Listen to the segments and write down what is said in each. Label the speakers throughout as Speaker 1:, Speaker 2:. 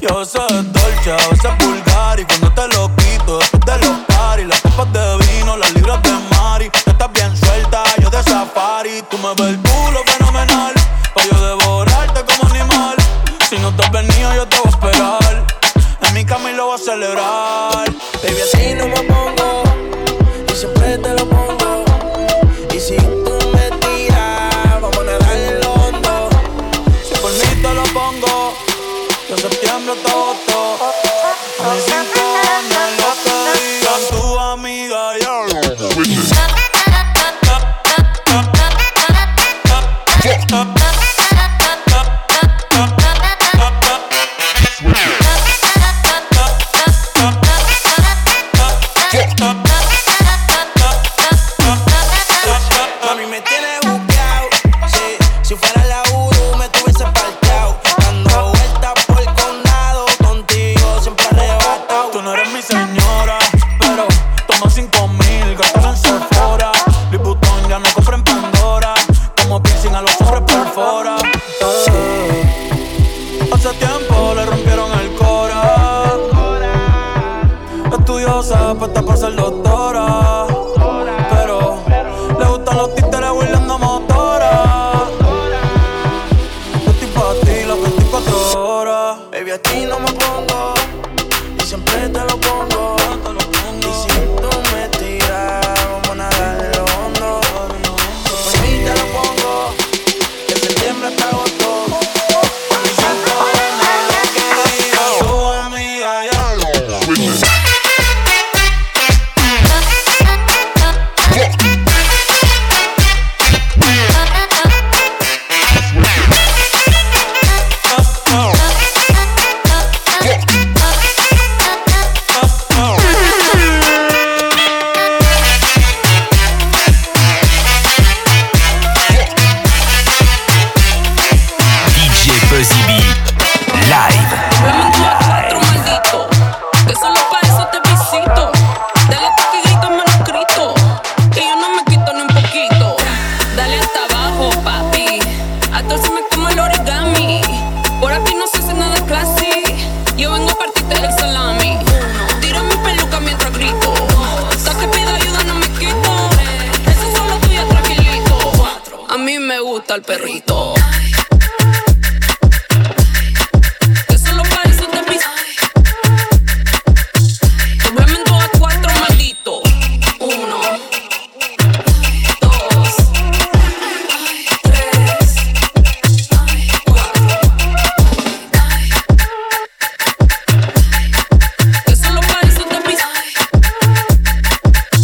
Speaker 1: Que a veces es dolce, a veces es vulgar. Y cuando te lo quito, después de los paris, las copas de vino, las libras de Mari. Tú estás bien suelta, yo de safari. Tú me ves el culo fenomenal, pa' yo devorarte como animal. Si no te has venido, yo te voy a esperar. En mi cama y lo voy a celebrar.
Speaker 2: Baby, así no me pongo, y siempre te lo pongo. Y si tú me tiras, vamos a nadar en lo hondo.
Speaker 1: Si por mí te lo pongo, de septiembre hasta agosto. A mis 5 años lo que digan tu amiga,
Speaker 2: Mami, me tienes buqueado, sí. Si fuera la Uru me tuviese parqueado. Dando vueltas por el condado, contigo siempre arrebatado.
Speaker 1: Tú no eres mi señora, pero toma 5,000, gastas en Sephora. Louis Vuitton ya no compra en Pandora. Como piercing a los hombres perfora. Hace tiempo le rompieron el cora. Estudiosa, puesta para ser doctora. Pero le gustan los títeres huirleando motora. Yo estoy pa' ti las 24 horas.
Speaker 2: Baby, a ti no me pongo, y siempre te lo pongo. Y si tú me tiras, vamos a nadar en lo hondo. Por mí te lo pongo, de septiembre hasta agosto. A mis 5 años lo que diga tu amiga, ya.
Speaker 3: Buzzy B Live.
Speaker 4: Movimiento a cuatro, maldito, que solo pa' eso te visito. Dale hasta que grito manuscrito, que yo no me quito ni un poquito. Dale hasta abajo, papi, hasta se me como el origami. Por aquí no se hace nada classy, yo vengo a partirte el salami. Tiro mi peluca mientras grito, hasta que pido ayuda no me quito. Eso es solo tuyo, tranquilito. A mí me gusta el perrito.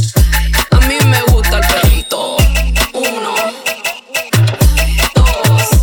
Speaker 4: A mí me gusta el perrito. 1, 2.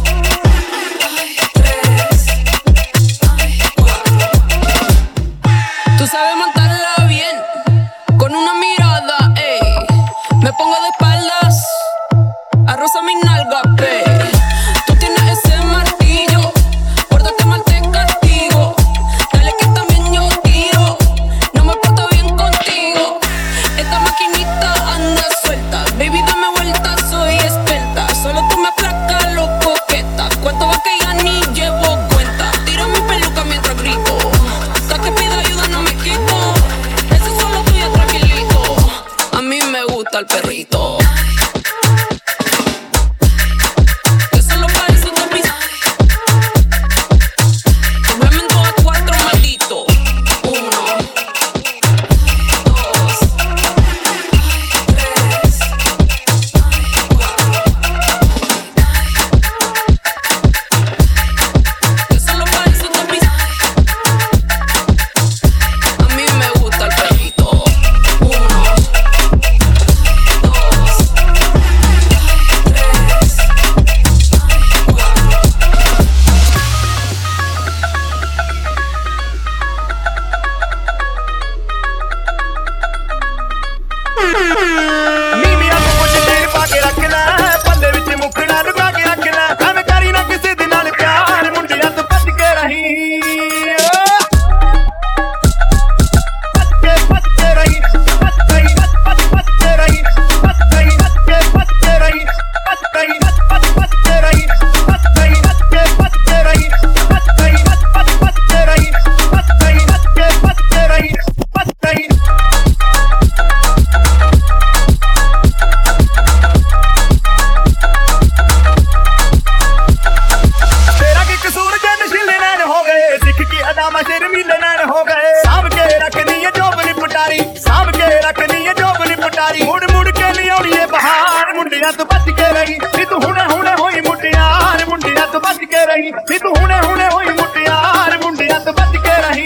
Speaker 5: ਮੁੰਡਿਆਂ ਤੋਂ ਬਚ ਕੇ ਰਹੀ ਨੀ ਤੂੰ ਹੁਣੇ ਹੁਣੇ ਹੋਈ ਮੁਟਿਆਰ ਮੁੰਡਿਆਂ ਤੋਂ ਬਚ ਕੇ ਰਹੀ ਨੀ ਤੂੰ ਹੁਣੇ ਹੁਣੇ ਹੋਈ ਮੁਟਿਆਰ ਮੁੰਡਿਆਂ ਤੋਂ ਬਚ ਕੇ ਰਹੀ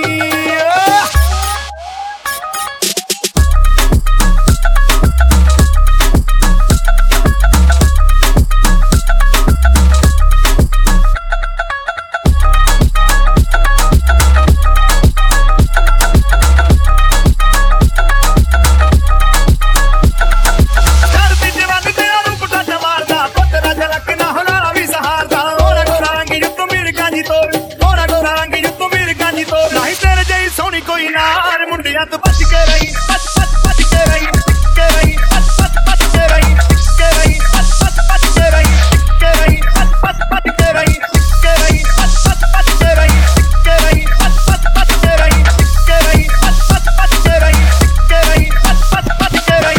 Speaker 5: ਕੋਈ ਨਾਰ ਮੁੰਡਿਆਂ ਤੋਂ ਬਚ ਕੇ ਰਹੀ ਬਚ ਕੇ ਰਹੀ ਕੇ ਰਹੀ ਬਚ ਕੇ ਰਹੀ ਕੇ ਰਹੀ ਬਚ ਕੇ ਰਹੀ ਕੇ ਰਹੀ ਬਚ ਕੇ ਰਹੀ ਕੇ ਰਹੀ ਬਚ ਕੇ ਰਹੀ ਕੇ ਰਹੀ ਬਚ ਕੇ ਰਹੀ ਕੇ ਰਹੀ ਬਚ ਕੇ ਰਹੀ ਕੇ ਰਹੀ ਬਚ ਕੇ ਰਹੀ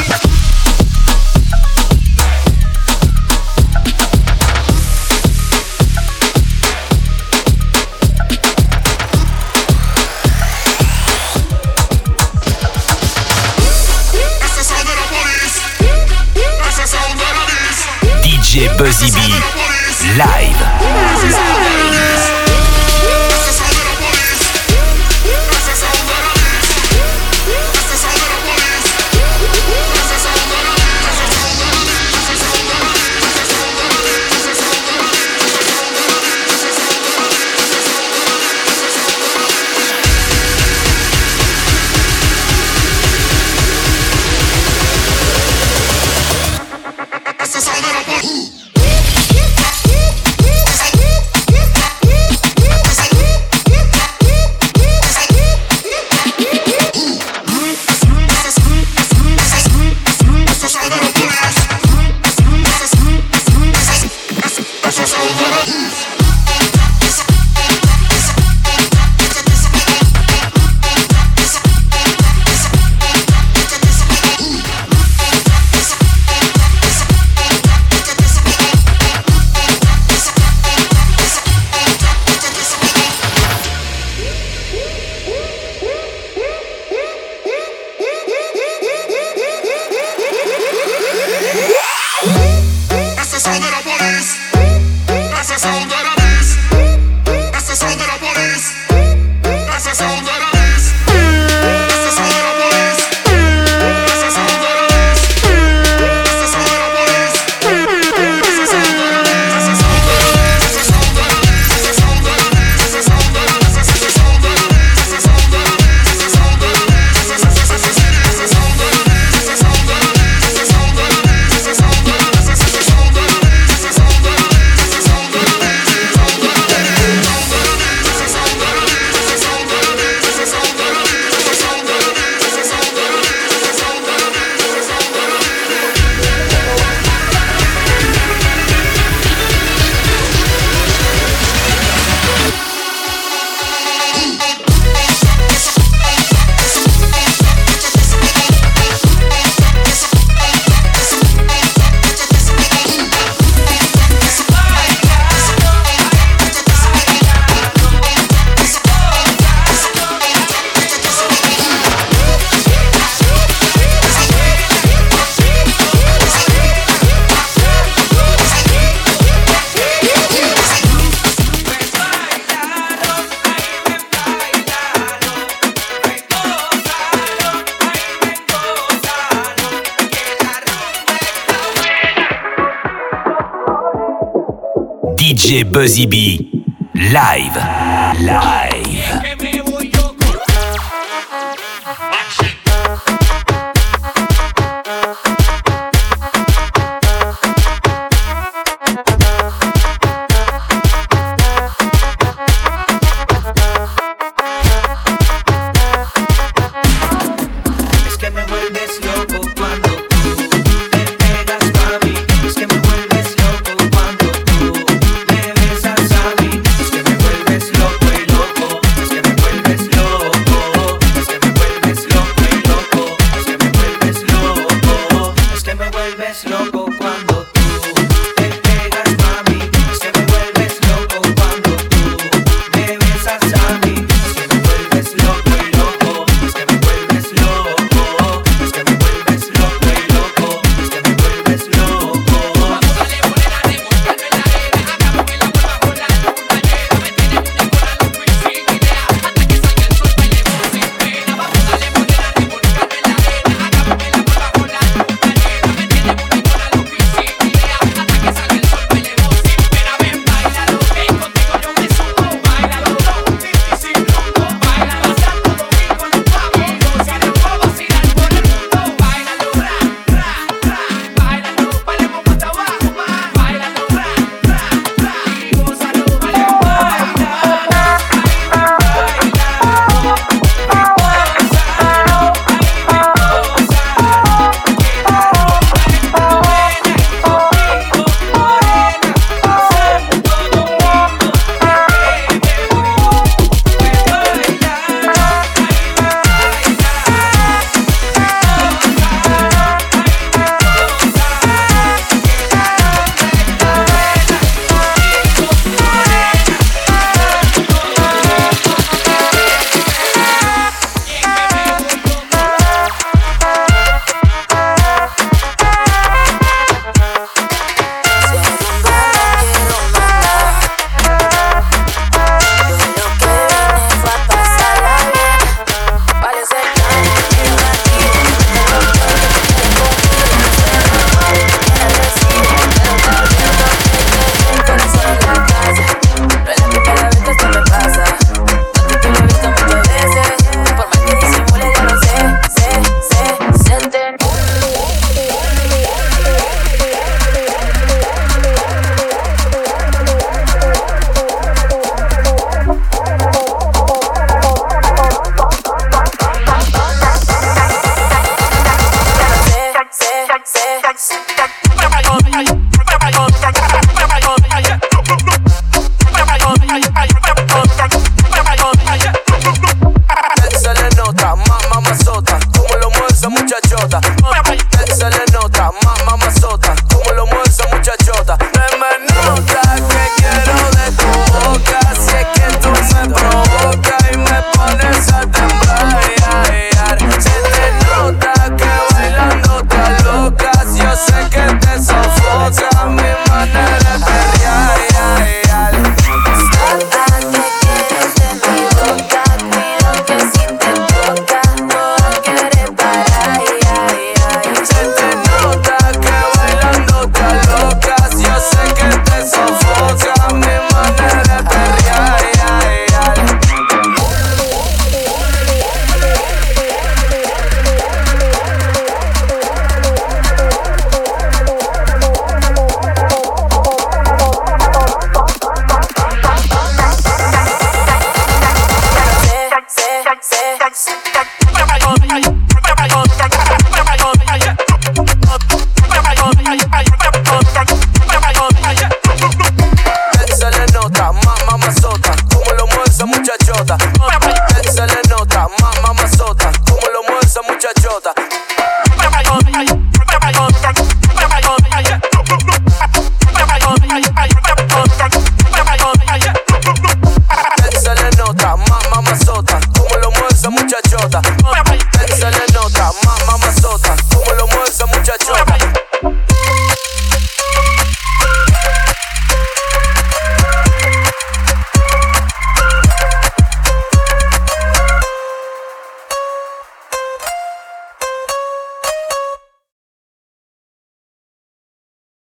Speaker 3: DJ Buzzy B live. DJ Buzzy B live.